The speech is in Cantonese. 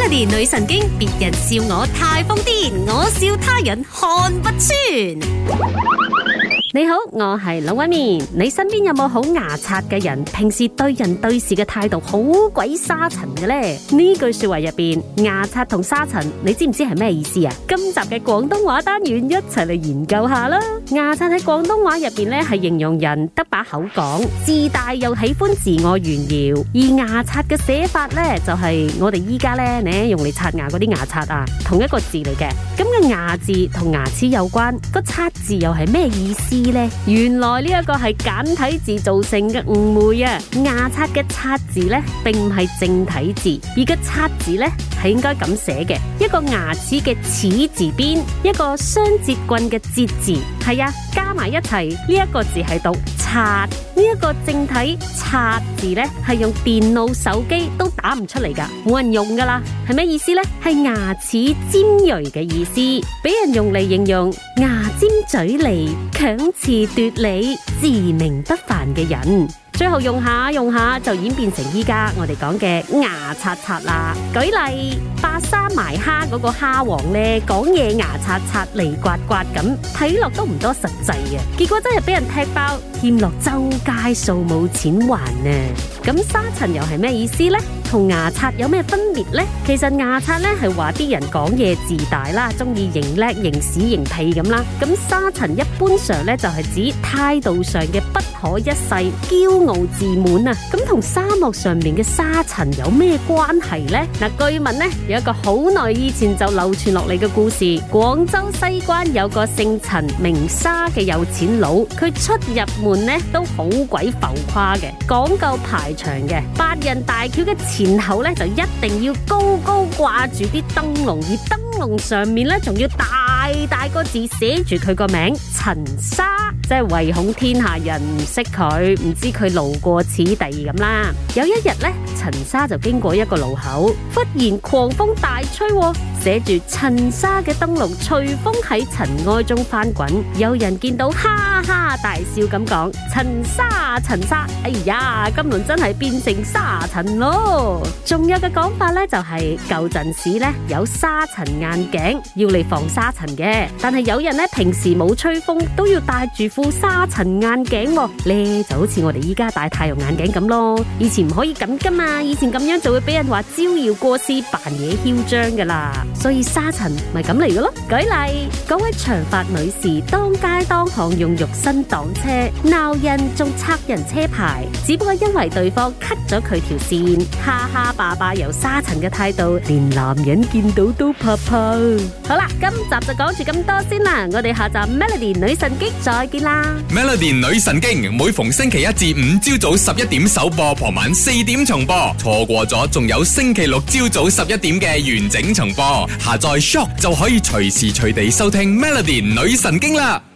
Melody 女神經，別人笑我太瘋癲，我笑他人看不穿。你好，我係龍紋敏。你身邊有冇好牙刷嘅人？平時對人對事嘅態度好鬼沙塵嘅呢？呢句說話入邊，牙刷同沙塵，你知唔知係咩意思啊？今集嘅廣東話單元一齊嚟研究下啦。牙刷喺廣東話入邊咧，係形容人得把口講，自大又喜歡自我炫耀。而牙刷嘅寫法咧，就係我哋依家咧用嚟刷牙嗰啲牙刷啊，同一個字嚟嘅。咁嘅牙字同牙齒有關，個刷字又係咩意思呢？原來呢一個係簡體字造成嘅誤會啊！牙刷嘅刷字呢，並唔係正體字，而個刷字呢，係應該咁寫嘅：一個牙齒嘅齒字邊，一個雙節棍嘅節字，係啊，加埋一齊呢一個字係讀刷。呢一個正體刷字呢，係用電腦、手機都打唔出嚟噶，冇人用噶啦。係咩意思呢？係牙齒尖銳嘅意思，俾人用嚟形容牙尖嘴利、強詞奪理、自命不凡嘅人。最後用下就演變成依家我哋講嘅牙刷刷啦。舉例，白沙埋蝦嗰個蝦王呢，講嘢牙刷刷嚟刮刮咁，睇落都唔多實際啊。結果真係俾人踢爆，欠落周街數冇錢還啊！咁沙塵又係咩意思呢？同牙刷有咩分別呢？其實牙刷咧係話啲人講嘢自大啦，中意認叻、認屎、認屁咁啦。咁沙塵一般上咧就係指態度上嘅不可一世、驕傲自滿啊。咁同沙漠上面嘅沙塵有咩關係呢？嗱，據聞咧有一個好耐以前就流傳落嚟嘅故事，廣州西關有個姓陳名沙嘅有錢佬，佢出入門咧都好鬼浮誇嘅，講究排場嘅。八人大轎嘅前後咧就一定要高高掛住啲燈籠，而燈籠上面咧仲要大個字寫住佢個名陳沙，即係唯恐天下人唔識佢，唔知佢路過此地咁啦。有一日咧，陳沙就經過一個路口，忽然狂風大吹，寫住陳沙嘅燈籠隨風喺塵埃中翻滾。有人見到哈哈大笑咁講：陳沙，哎呀，今輪真係變成沙塵咯！仲有嘅講法咧，就係舊陣時咧有沙塵眼鏡要嚟防沙塵嘅，但係有人咧平時冇吹風都要戴住副沙塵眼鏡咧，就好似我哋依家戴太陽眼鏡咁咯。以前唔可以咁噶嘛，以前咁樣就會俾人話招搖過市、扮嘢囂張噶啦。所以沙塵咪咁嚟嘅咯。舉例，嗰位長髮女士當街當巷用肉身擋車，鬧人仲拆人車牌，只不過因為對方 cut 咗佢條線，哈哈霸霸由沙塵嘅態度，連男人見到都怕怕。好啦，今集就講住咁多先啦，我哋下集 Melody 女神經再見啦。 Melody 女神經每逢星期一至五朝早11點首播，傍晚4點重播，錯過咗仲有星期六朝早11點嘅完整重播。下載 Shock 就可以隨時隨地收聽 Melody 女神經啦。